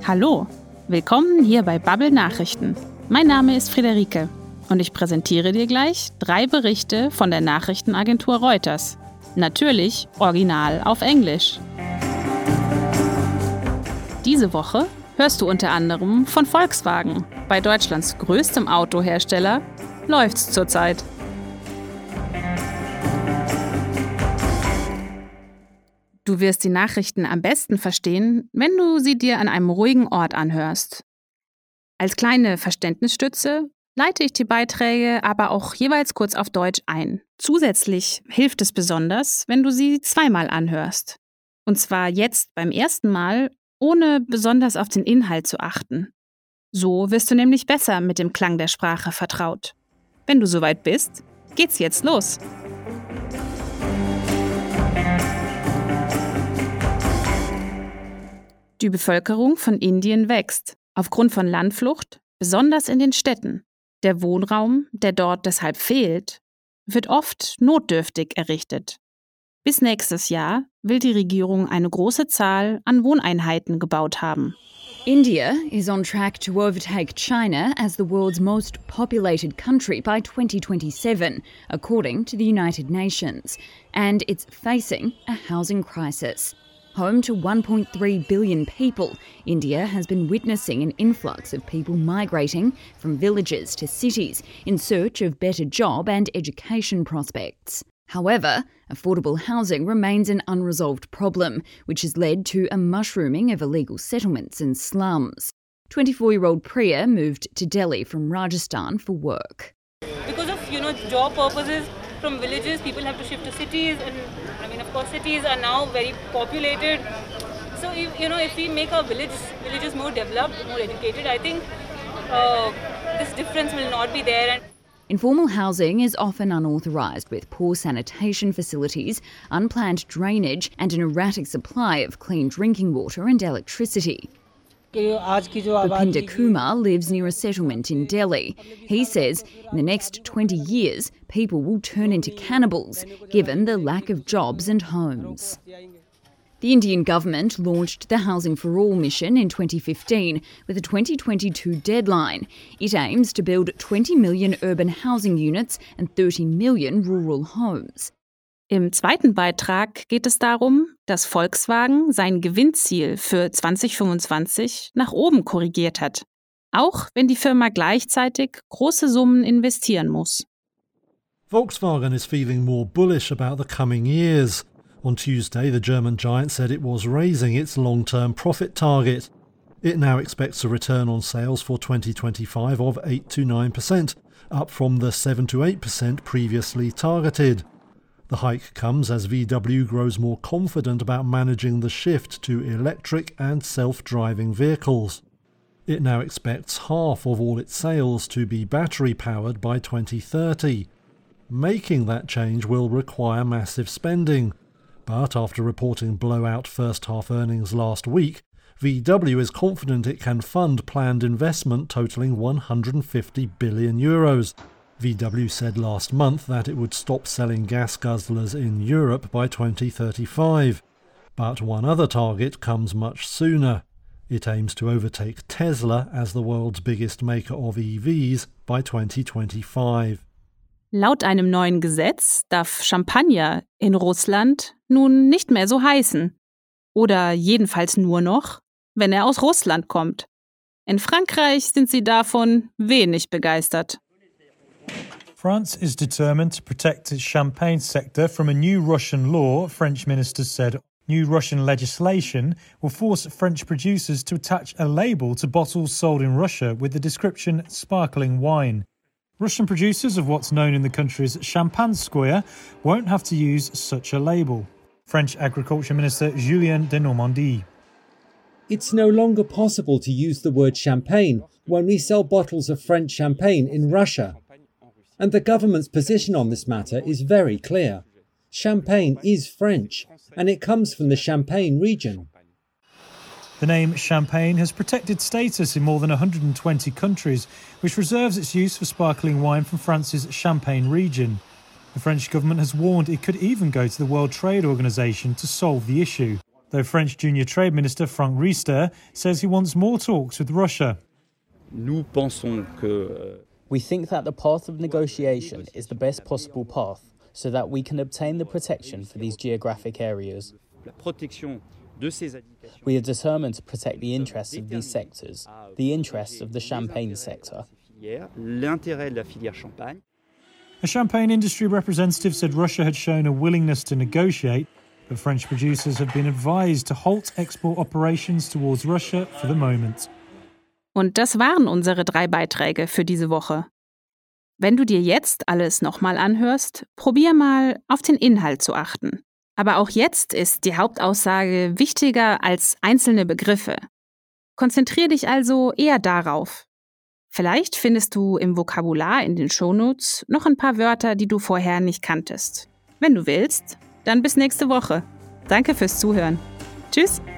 Hallo, willkommen hier bei Bubble Nachrichten. Mein Name ist Friederike und ich präsentiere dir gleich 3 Berichte von der Nachrichtenagentur Reuters. Natürlich original auf Englisch. Diese Woche hörst du unter anderem von Volkswagen. Bei Deutschlands größtem Autohersteller läuft's zurzeit. Du wirst die Nachrichten am besten verstehen, wenn du sie dir an einem ruhigen Ort anhörst. Als kleine Verständnisstütze leite ich die Beiträge aber auch jeweils kurz auf Deutsch ein. Zusätzlich hilft es besonders, wenn du sie zweimal anhörst. Und zwar jetzt beim ersten Mal, ohne besonders auf den Inhalt zu achten. So wirst du nämlich besser mit dem Klang der Sprache vertraut. Wenn du soweit bist, geht's jetzt los. Die Bevölkerung von Indien wächst, aufgrund von Landflucht, besonders in den Städten. Der Wohnraum, der dort deshalb fehlt, wird oft notdürftig errichtet. Bis nächstes Jahr will die Regierung eine große Zahl an Wohneinheiten gebaut haben. India is on track to overtake China as the world's most populated country by 2027, according to the United Nations. And it's facing a housing crisis. Home to 1.3 billion people, India has been witnessing an influx of people migrating from villages to cities in search of better job and education prospects. However, affordable housing remains an unresolved problem, which has led to a mushrooming of illegal settlements and slums. 24-year-old Priya moved to Delhi from Rajasthan for work. Because of, job purposes, from villages, people have to shift to cities, and of course, cities are now very populated. So, if we make our villages more developed, more educated, I think this difference will not be there. Informal housing is often unauthorised, with poor sanitation facilities, unplanned drainage and an erratic supply of clean drinking water and electricity. Bhupinder Kumar lives near a settlement in Delhi. He says in the next 20 years, people will turn into cannibals, given the lack of jobs and homes. The Indian government launched the Housing for All mission in 2015 with a 2022 deadline. It aims to build 20 million urban housing units and 30 million rural homes. Im zweiten Beitrag geht es darum, dass Volkswagen sein Gewinnziel für 2025 nach oben korrigiert hat, auch wenn die Firma gleichzeitig große Summen investieren muss. Volkswagen is feeling more bullish about the coming years. On Tuesday, the German giant said it was raising its long-term profit target. It now expects a return on sales for 2025 of 8 to 9%, up from the 7 to 8% previously targeted. The hike comes as VW grows more confident about managing the shift to electric and self-driving vehicles. It now expects half of all its sales to be battery-powered by 2030. Making that change will require massive spending. But after reporting blowout first-half earnings last week, VW is confident it can fund planned investment totalling €150 billion. VW said last month that it would stop selling gas guzzlers in Europe by 2035. But one other target comes much sooner. It aims to overtake Tesla as the world's biggest maker of EVs by 2025. Laut einem neuen Gesetz darf Champagner in Russland nun nicht mehr so heißen. Oder jedenfalls nur noch, wenn er aus Russland kommt. In Frankreich sind sie davon wenig begeistert. France is determined to protect its champagne sector from a new Russian law, French ministers said. New Russian legislation will force French producers to attach a label to bottles sold in Russia with the description sparkling wine. Russian producers of what's known in the country's Champagnskoye won't have to use such a label. French Agriculture Minister Julien de Normandie. It's no longer possible to use the word champagne when we sell bottles of French champagne in Russia. And the government's position on this matter is very clear. Champagne is French, and it comes from the Champagne region. The name Champagne has protected status in more than 120 countries, which reserves its use for sparkling wine from France's Champagne region. The French government has warned it could even go to the World Trade Organization to solve the issue. though French Junior Trade Minister Franck Riester says he wants more talks with Russia. We think that the path of negotiation is the best possible path so that we can obtain the protection for these geographic areas. We are determined to protect the interests of these sectors, the interests of the champagne sector. A champagne industry representative said Russia had shown a willingness to negotiate, but French producers have been advised to halt export operations towards Russia for the moment. Und das waren unsere 3 Beiträge für diese Woche. Wenn du dir jetzt alles nochmal anhörst, probier mal auf den Inhalt zu achten. Aber auch jetzt ist die Hauptaussage wichtiger als einzelne Begriffe. Konzentrier dich also eher darauf. Vielleicht findest du im Vokabular in den Shownotes noch ein paar Wörter, die du vorher nicht kanntest. Wenn du willst, dann bis nächste Woche. Danke fürs Zuhören. Tschüss!